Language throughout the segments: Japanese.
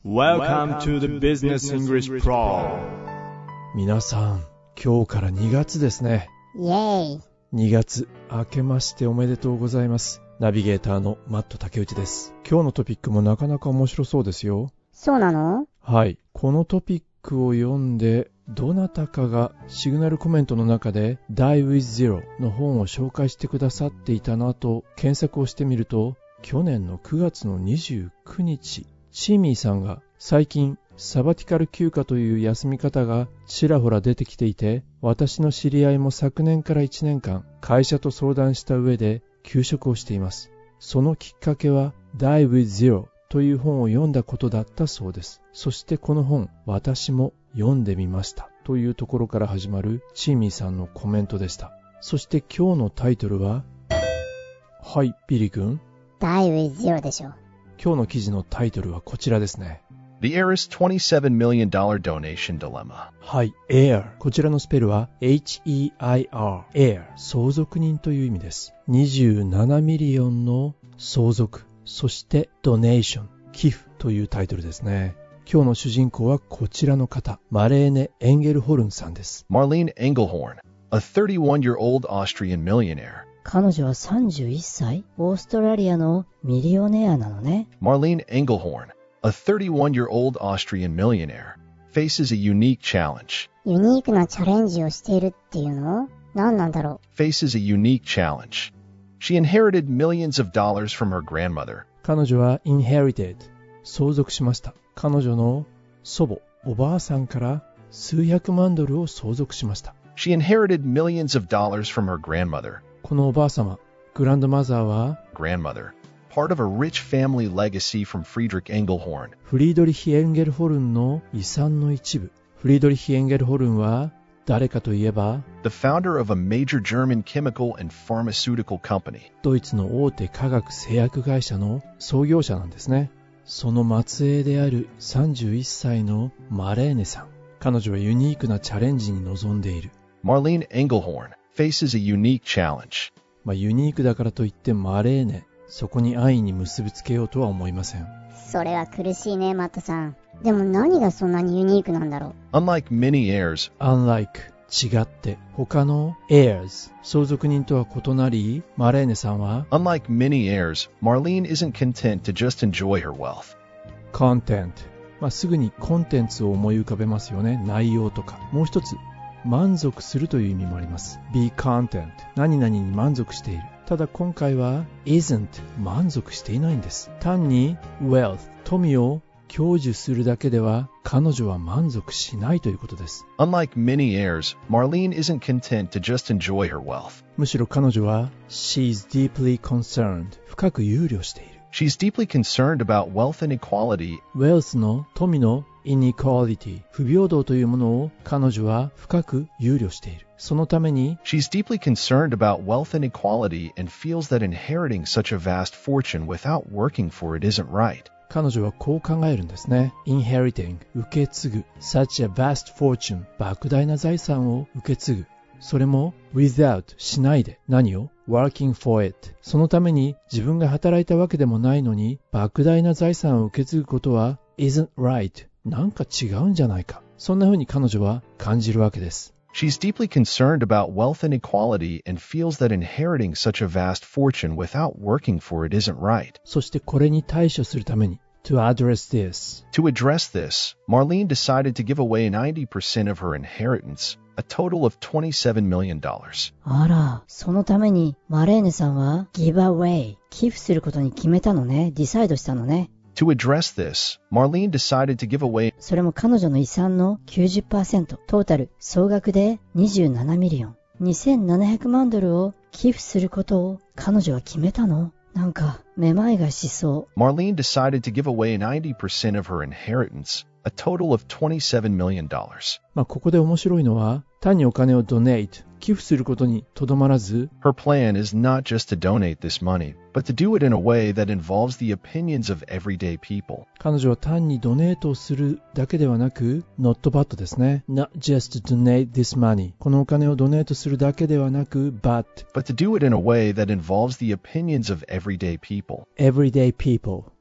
Welcome to the Business English Pro。 皆さん、今日から2月ですね。 イエーイ。 2月、明けましておめでとうございます。ナビゲーターのマット竹内です。今日のトピックもなかなか面白そうですよ。 そうなの？ はい。このトピックを読んで、どなたかがシグナルコメントの中で Die with Zero の本を紹介してくださっていたなと検索をしてみると、去年の9月の29日、チーミーさんが最近サバティカル休暇という休み方がちらほら出てきていて、私の知り合いも昨年から1年間会社と相談した上で休職をしています。そのきっかけは Die with Zero という本を読んだことだったそうです。そしてこの本、私も読んでみましたというところから始まるチーミーさんのコメントでした。そして今日のタイトルは、はい、ビリ君。 Die with Zero でしょ。 今日の記事のタイトルはこちらですね。 The Heir's $27 million donation dilemma。 はい、Heir。こちらのスペルは H-E-I-R。Heir。相続人という意味です。27ミリオンの相続。そして Donation。寄付というタイトルですね。今日の主人公はこちらの方。マレーネ・エンゲルホルンさんです。 Marlene Engelhorn, a 31-year-old Austrian millionaire。 彼女は31歳、オーストラリアのミリオネアなのね。 Marlene Engelhorn, a 31-year-old Austrian millionaire, faces a unique challenge. ユニークなチャレンジをしているっていうの？何なんだろう。 Faces a unique challenge. She inherited millions of dollars from her grandmother. 彼女は inherited、相続しました。彼女の祖母、おばあさんから数百万ドルを相続しました。 She inherited millions of dollars from her grandmother. このおばあ様、グランドマザーは Grandmother, part of a rich family legacy from Friedrich Engelhorn. フリードリヒ・エンゲルホルンの遺産の一部。フリードリヒ・エンゲルホルンは誰かといえば The founder of a major German chemical and pharmaceutical company. ドイツの大手化学製薬会社の創業者なんですね。その末裔である31歳のマレーネさん。彼女はユニークなチャレンジに臨んでいる。 Marlene Engelhorn faces a unique challenge. ユニークだからといってマレーネ、そこに安易に結びつけようとは思いません。 それは苦しいね、マットさん。でも何がそんなにユニークなんだろう。 Unlike many heirs, Unlike、違って、他の heirs、相続人とは異なり、マレーネさんは Unlike many heirs, Marlene isn't content to just enjoy her wealth. content、すぐにコンテンツを思い浮かべますよね。内容とか。もう一つ、満足するという意味もあります。be content、何々に満足している。ただ今回は isn't、満足していないんです。単に wealth、富を享受するだけでは彼女は満足しないということです。 Unlike many heirs, Marlene isn't content to just enjoy her wealth. むしろ彼女は she's deeply concerned、深く憂慮している。 She's deeply concerned about wealth inequality. wealth の富のinequality、不平等というものを彼女は深く憂慮している。そのために She's deeply concerned about wealth inequality and feels that inheriting such a vast fortune without working for it isn't right. 彼女はこう考えるんですね。inheriting、受け継ぐ。such a vast fortune、莫大な財産を受け継ぐ。それも without、しないで。何を working for it。そのために自分が働いたわけでもないのに、莫大な財産を受け継ぐことは isn't right。なんか違うんじゃないか。そんな風に彼女は感じるわけです。 She's deeply concerned about wealth inequality and feels that inheriting such a vast fortune without working for it isn't right. そしてこれに対処するために to address this. To address this, Marlene decided to give away 90% of her inheritance, a total of $27 million. あら、そのためにマレーネさんは give away、寄付することに決めたのね。ディサイドしたのね。 To address this, Marlene decided to give away それも彼女の遺産の 90%、トータル総額で27ミリオン、2700万ドルを寄付することを彼女は決めたの。なんかめまいがしそう。 Marlene decided to give away 90% of her inheritance, a total of $27 million. ここで面白いのは、単にお金を donate、寄付することにとどまらず、 Her plan is not just to donate this money, but to do it in a way that involves the opinions of everyday people. 彼女は単にドネートをするだけではなく、not but ですね。not just to donate this money。このお金をドネートするだけではなく、but to do it in a way that involves the opinions of everyday people. everyday people。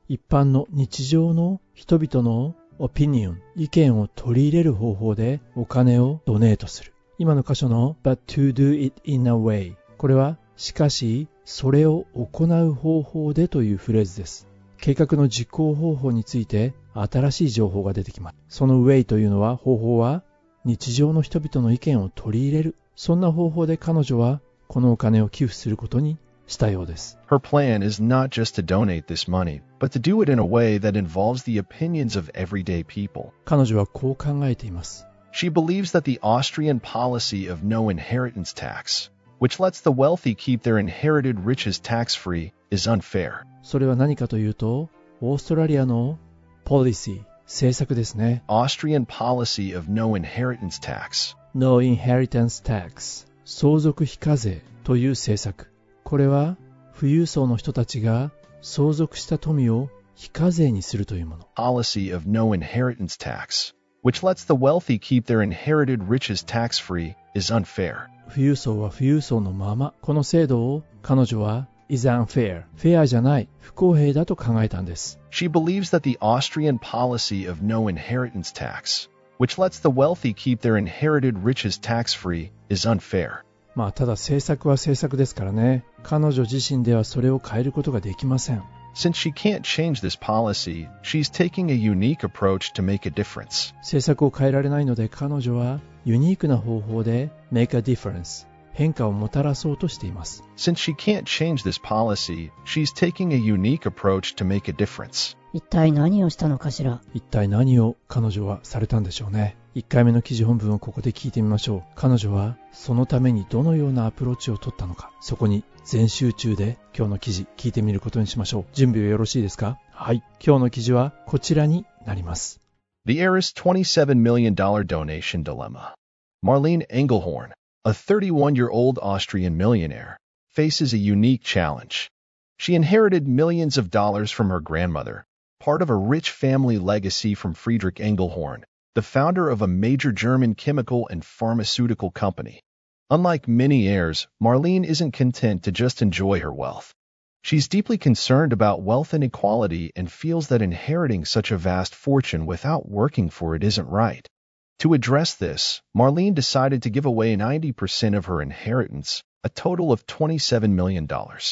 一般の日常の人々のオピニオン、意見を取り入れる方法でお金をドネートする。今の箇所の but to do it in a way、 これはしかしそれを行う方法でというフレーズです。計画の実行方法について新しい情報が出てきます。その way というのは、方法は日常の人々の意見を取り入れる。そんな方法で彼女はこのお金を寄付することにしたようです。 Her plan is not just to donate this money, but to do it in a way that involves the opinions of everyday people. 彼女はこう考えています。 She believes that the Austrian policy of no inheritance tax, which lets the wealthy keep their inherited riches tax-free, is unfair. それは何かというと、オーストラリアのポリシー、政策ですね。 Austrian policy of no inheritance tax. No inheritance tax、 相続非課税という政策。これは富裕層の人たちが相続した富を非課税にするというもの。 Policy of no inheritance tax, which lets the wealthy keep their inherited riches tax-free, is unfair. 富裕層は富裕層のまま、この制度を彼女は is unfair、 フェアじゃない、不公平だと考えたんです。 She believes that the Austrian policy of no inheritance tax, which lets the wealthy keep their inherited riches tax-free, is unfair. まあただ政策は政策ですからね。彼女自身ではそれを変えることができません。 Since she can't change this policy, she's taking a unique approach to make a difference. 政策を変えられないので、彼女はユニークな方法で make a difference、 変化をもたらそうとしています。 Since she can't change this policy, she's taking a unique approach to make a difference. 一体何をしたのかしら。 一体何を彼女はされたんでしょうね。1回目の記事本文をここで聞いてみましょう。彼女はそのためにどのようなアプローチを取ったのか、そこに全集中で今日の記事聞いてみることにしましょう。準備はよろしいですか？はい。今日の記事はこちらになります。 The heiress $27 million donation dilemma. Marlene Engelhorn, a 31-year-old Austrian millionaire, faces a unique challenge. She inherited millions of dollars from her grandmother, part of a rich family legacy from Friedrich Engelhorn, the founder of a major German chemical and pharmaceutical company. Unlike many heirs, Marlene isn't content to just enjoy her wealth. She's deeply concerned about wealth inequality and feels that inheriting such a vast fortune without working for it isn't right. To address this, Marlene decided to give away 90% of her inheritance, a total of $27 million.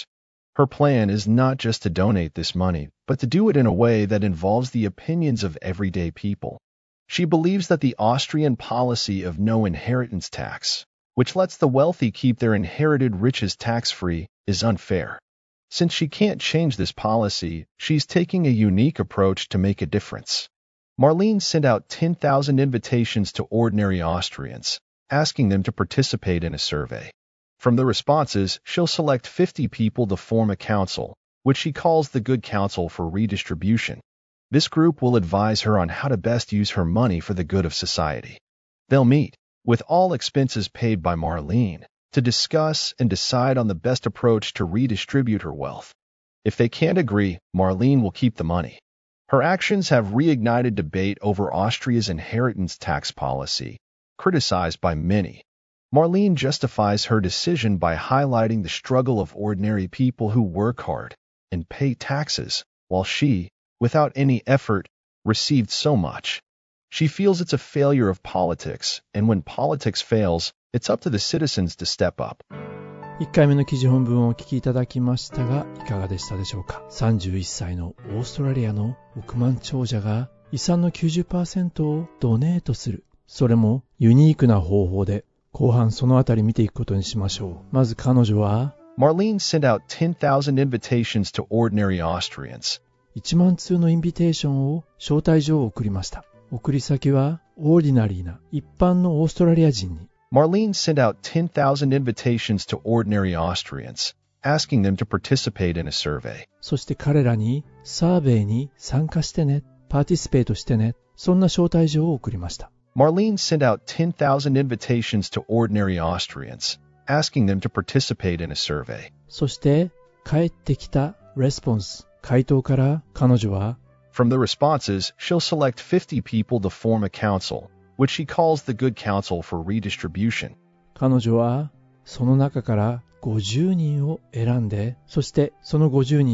Her plan is not just to donate this money, but to do it in a way that involves the opinions of everyday people. She believes that the Austrian policy of no inheritance tax, which lets the wealthy keep their inherited riches tax-free, is unfair. Since she can't change this policy, she's taking a unique approach to make a difference. Marlene sent out 10,000 invitations to ordinary Austrians, asking them to participate in a survey. From the responses, she'll select 50 people to form a council, which she calls the Good Council for Redistribution. This group will advise her on how to best use her money for the good of society. They'll meet, with all expenses paid by Marlene, to discuss and decide on the best approach to redistribute her wealth. If they can't agree, Marlene will keep the money. Her actions have reignited debate over Austria's inheritance tax policy, criticized by many. Marlene justifies her decision by highlighting the struggle of ordinary people who work hard and pay taxes, while she, without any effort, received so much. She feels it's a failure of politics, and when politics fails, it's up to the citizens to step up. 1回目の記事本文をお聞きいただきましたが、いかがでしたでしょうか。31歳のオーストラリアの億万長者が遺産の 90% をドネートする。それもユニークな方法で、後半そのあたり見ていくことにしましょう。まず彼女は、 Marlene sent out 10,000 invitations to ordinary Austrians. 1万通のインビテーションを招待状を送りました。送り先はオーディナリーな一般のオーストラリア人に。 Marlene sent out 10,000 invitations to ordinary Austrians, asking them to participate in a survey. そして彼らにサーベイに参加してね、パーティスペートしてね、そんな招待状を送りました。 Marlene sent out 10,000 invitations to ordinary Austrians, asking them to participate in a survey. そして返ってきたレスポンス、回答から彼女は、 From the responses, she'll select 50 people to form a council, which she calls the Good Council for Redistribution. 彼女はその中から50人を選んで、そしてその50人を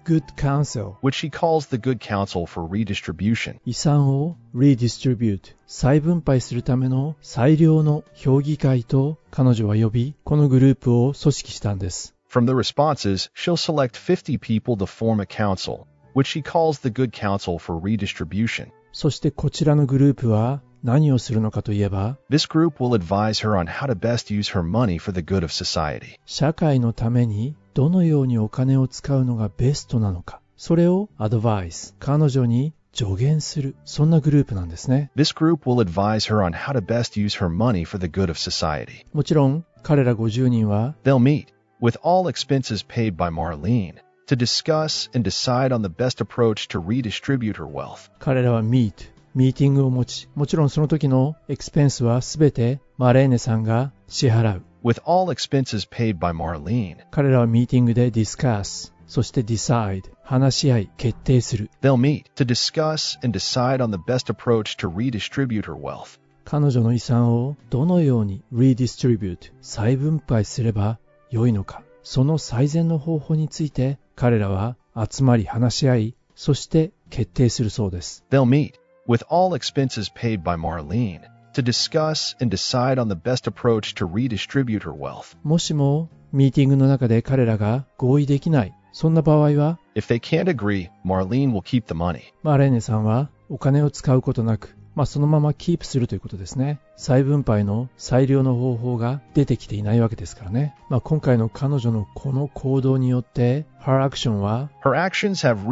good counsel which she calls the good counsel for redistribution. 遺産を redistribute 再分配するための最良の評議会と彼女は呼び、このグループを組織したんです。 From the responses, she'll select 50 people to form a council, which she calls the good counsel for redistribution. そしてこちらのグループは何をするのかといえば、 This group will advise her on how to best use her money for the good of society. 社会のためにどのようにお金を使うのがベストなのか、それをアドバイス、彼女に助言する、そんなグループなんですね。 This group will advise her on how to best use her money for the good of society. もちろん彼ら50人は They'll meet, with all expenses paid by Marlene, to discuss and decide on the best approach to redistribute her wealth. 彼らはミーティングを持ち、もちろんその時のエクスペンスはすべてマレーネさんが支払う。 With all expenses paid by Marlene, 彼らはミーティングでディスカス、そしてディサイド、話し合い、決定する。 they'll meet to discuss and decide on the best approach to redistribute her wealth. 彼女の遺産をどのように redistribute、再分配すれば良いのか、その最善の方法について彼らは集まり話し合い、そして決定するそうです。 They'll meet, with all expenses paid by Marlene, to discuss and decide on the best approach to redistribute her wealth. もしもミーティングの中で彼らが合意できない、そんな場合は、 If they can't agree, Marlene will keep the money. マレーネさんはお金を使うことなく、そのままキープするということですね。再分配の最良の方法が出てきていないわけですからね。今回の彼女のこの行動によって、Her action は Her actions have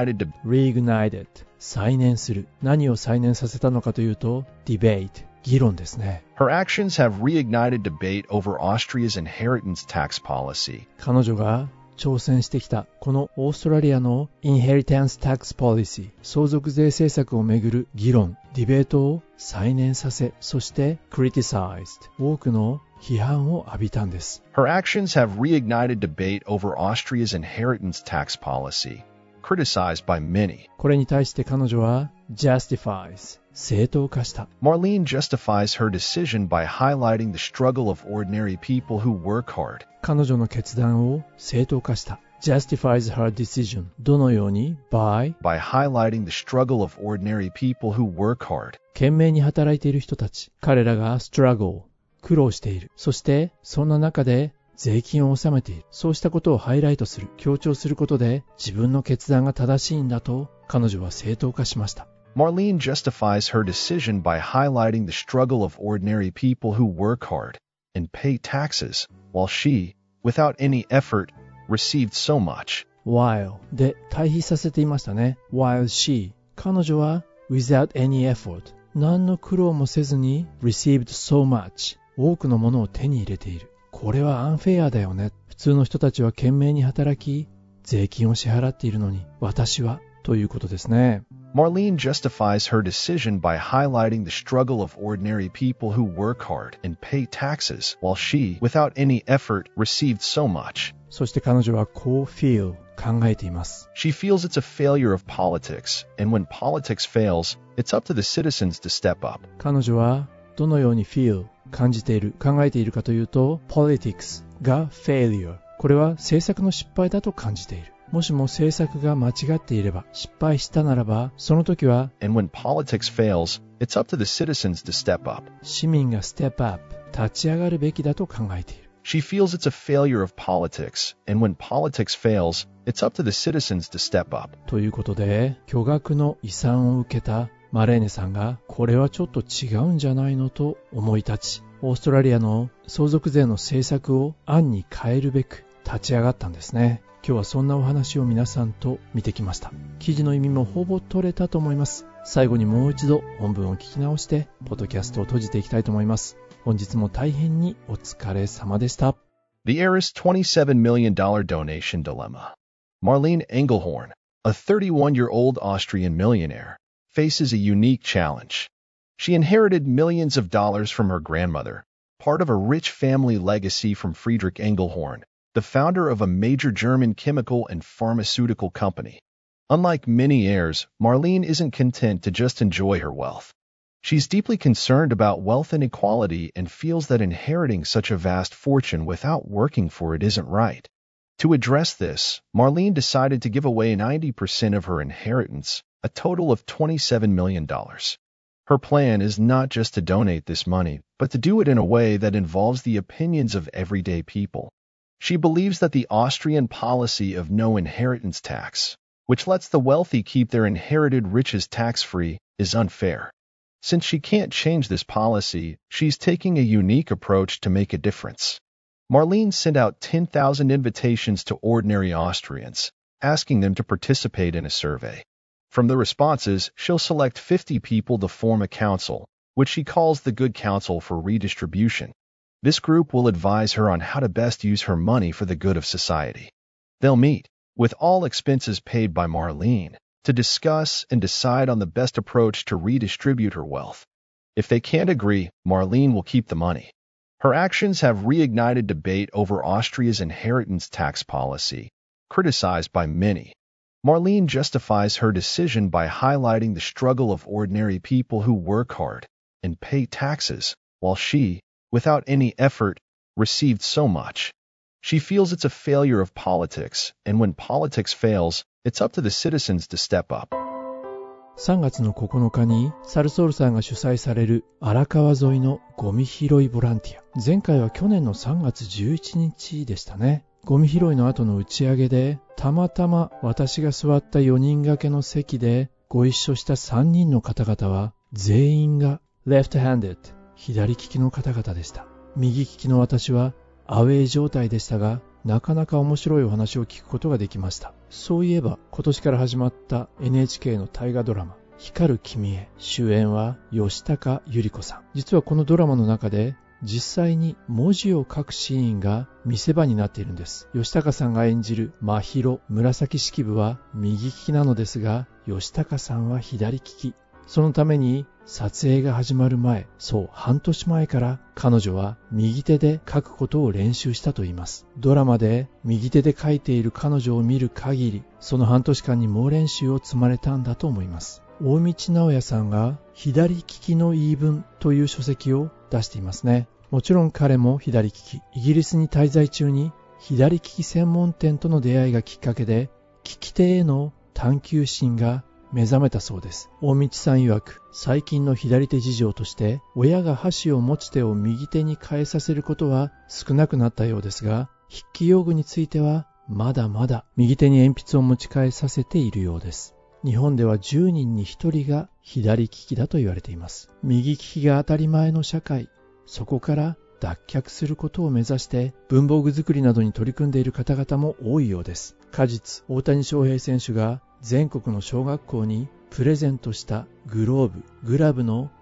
reignited 再燃する。何を再燃させたのかというと、debate 議論ですね。 Her actions have reignited debate over Austria's inheritance tax policy. 彼女が挑戦してきたこのオーストラリアの Inheritance Tax Policy 相続税政策をめぐる議論、ディベートを再燃させ、そして criticized 多くの批判を浴びたんです。 Her actions have reignited debate over Austria's inheritance tax policy, criticized by many. これに対して彼女は justifies 正当化した。 Marlene justifies her decision by highlighting the struggle of ordinary people who work hard. 彼女の決断を正当化した。justifies her decision どのように by highlighting the struggle of ordinary people who work hard. 懸命に働いている人たち、彼らが struggle 苦労している。そしてそんな中で税金を納めている。そうしたことをハイライトする、強調することで自分の決断が正しいんだと彼女は正当化しました。 Marlene justifies her decision by highlighting the struggle of ordinary people who work hard and pay taxes, while she, without any effort, received so much. while で対比させていましたね。while she 彼女は without any effort 何の苦労もせずに received so much 多くのものを手に入れている。これはアンフェアだよね。普通の人たちは懸命に働き税金を支払っているのに私はということですね。 Marlene justifies her decision by highlighting the struggle of ordinary people who work hard and pay taxes, while she, without any effort, received so much. そして彼女はこう feel 考えています。 She feels it's a failure of politics, and when politics fails, it's up to the citizens to step up. 彼女はどのように feel 感じている、考えているかというと politics が failure これは政策の失敗だと感じている。もしも政策が間違っていれば、失敗したならば、その時は And when politics fails, it's up to the citizens to step up. 市民が step up 立ち上がるべきだと考えている。 She feels it's a failure of politics, and when politics fails, it's up to the citizens to step up. ということで、巨額の遺産を受けたマレーネさんが、これはちょっと違うんじゃないのと思い立ち、オーストラリアの相続税の政策を暗に変えるべく立ち上がったんですね。今日はそんなお話を皆さんと見てきました。記事の意味もほぼ取れたと思います。最後にもう一度本文を聞き直して、ポッドキャストを閉じていきたいと思います。本日も大変にお疲れ様でした。 The heiress $27 million donation dilemma. Marlene Engelhorn, a 31-year-old Austrian millionaire, faces a unique challenge. She inherited millions of dollars from her grandmother, part of a rich family legacy from Friedrich Engelhorn, the founder of a major German chemical and pharmaceutical company. Unlike many heirs, Marlene isn't content to just enjoy her wealth. She's deeply concerned about wealth inequality and feels that inheriting such a vast fortune without working for it isn't right. To address this, Marlene decided to give away 90% of her inheritance, a total of $27 million. Her plan is not just to donate this money, but to do it in a way that involves the opinions of everyday people. She believes that the Austrian policy of no inheritance tax, which lets the wealthy keep their inherited riches tax-free, is unfair. Since she can't change this policy, she's taking a unique approach to make a difference. Marlene sent out 10,000 invitations to ordinary Austrians, asking them to participate in a survey. From the responses, she'll select 50 people to form a council, which she calls the Good Council for Redistribution. This group will advise her on how to best use her money for the good of society. They'll meet, with all expenses paid by Marlene, to discuss and decide on the best approach to redistribute her wealth. If they can't agree, Marlene will keep the money. Her actions have reignited debate over Austria's inheritance tax policy, criticized by many. Marlene justifies her decision by highlighting the struggle of ordinary people who work hard and pay taxes, while she, without any effort, received so much. She feels it's a failure of politics, and when politics fails, it's up to the citizens to step up. 3月の9日にサルソールさんが主催される荒川沿いのゴミ拾いボランティア。前回は去年の3月11日でしたね。ゴミ拾いの後の打ち上げで、たまたま私が座った4人掛けの席でご一緒した3人の方々は全員が left-handed、左利きの方々でした。右利きの私はアウェイ状態でしたが、なかなか面白いお話を聞くことができました。そういえば今年から始まった NHK の大河ドラマ光る君へ、主演は吉高由里子さん。実はこのドラマの中で実際に文字を書くシーンが見せ場になっているんです。吉高さんが演じる真宙紫式部は右利きなのですが、吉高さんは左利き。そのために撮影が始まる前、そう半年前から彼女は右手で書くことを練習したといいます。ドラマで右手で書いている彼女を見る限り、その半年間に猛練習を積まれたんだと思います。大道直也さんが左利きの言い分という書籍を出していますね。もちろん彼も左利き。イギリスに滞在中に左利き専門店との出会いがきっかけで、利き手への探求心が目覚めたそうです。大道さん曰く、最近の左手事情として、親が箸を持ち手を右手に変えさせることは少なくなったようですが、筆記用具についてはまだまだ右手に鉛筆を持ち替えさせているようです。日本では10人に1人が左利きだと言われています。右利きが当たり前の社会、そこから脱却することを目指して文房具作りなどに取り組んでいる方々も多いようです。果実、大谷翔平選手が全国の小学校にプレゼントしたグラブの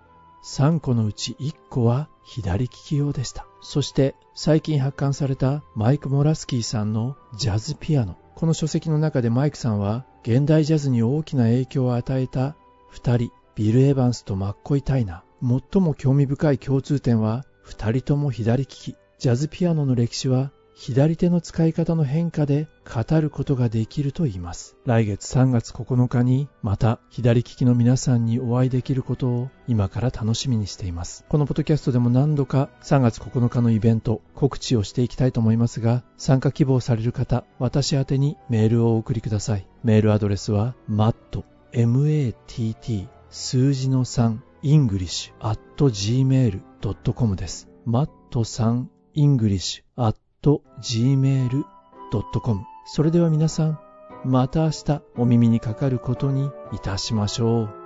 3個のうち1個は左利き用でした。そして最近発刊されたマイク・モラスキーさんのジャズピアノ。この書籍の中でマイクさんは現代ジャズに大きな影響を与えた2人、ビル・エヴァンスとマッコイ・タイナー。最も興味深い共通点は2人とも左利き。ジャズピアノの歴史は左手の使い方の変化で語ることができると言います。来月3月9日にまた左利きの皆さんにお会いできることを今から楽しみにしています。このポッドキャストでも何度か3月9日のイベント告知をしていきたいと思いますが、参加希望される方、私宛てにメールをお送りください。メールアドレスは matt 数字の3 english@gmail.com です。matt3english@gmail.com。 それでは皆さん、また明日お耳にかかることにいたしましょう。